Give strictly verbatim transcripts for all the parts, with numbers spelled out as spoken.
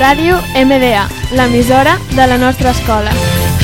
Ràdio M D A, l'emissora de la nostra escola.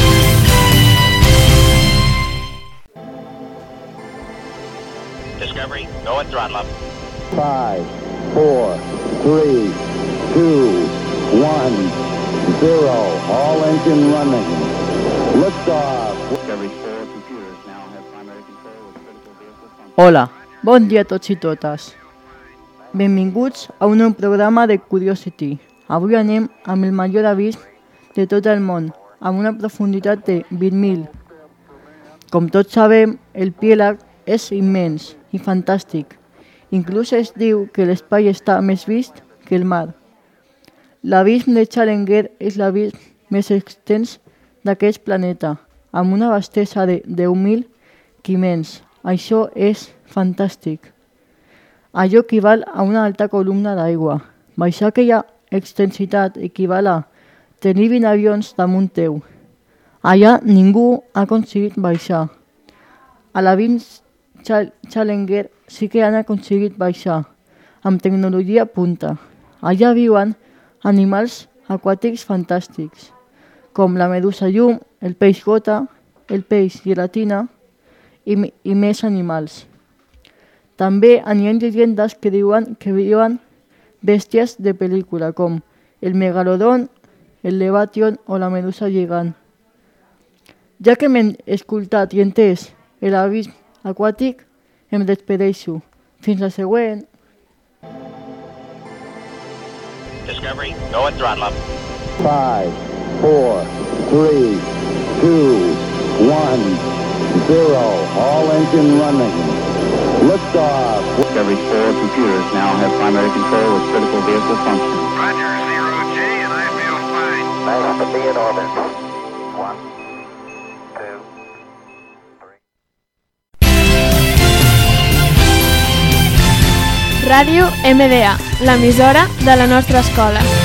Discovery, go and throttle up. Five, four, three, two, one, zero. All engine running. Liftoff. Discovery four computers now have primary control of critical vehicle function. Hola, bon dia a tots i totes. Benvinguts a un nou programa de Curiosity. Avui anem amb el major abisme de tot el món, amb una profunditat de vint mil. Com tots sabem, el piélag és immens i fantàstic. Inclús es diu que l'espai està més vist que el mar. L'abisme de Challenger és l'abisme més extens d'aquest planeta, amb una vastesa de deu mil quilòmetres. Això és fantàstic. Allò equival a una alta columna d'aigua. Baixar aquella extensitat equival a tenir vint avions damunt teu. Allà ningú ha aconseguit baixar. A l'abisme Challenger sí que han aconseguit baixar, amb tecnologia punta. Allà viuen animals aquàtics fantàstics, com la medusa llum, el peix gota, el peix gelatina i, i més animals. També hi ha llegendes que diuen que viuen bèsties de pel·lícula, com el megalodon, el leviatán o la medusa gegant. Ja que m'he escoltat i entès l'abisme aquàtic, em despedeixo. Fins la següent. Discovery, go and throttle up. Five, four, three, two, one, zero. All engine running. Liftoff. Discovery four computers now have primary control of critical vehicle function. Roger, zero G, and I feel fine. Nice to be in orbit. One, two, three. Ràdio M D A, l'emissora de la nostra escola.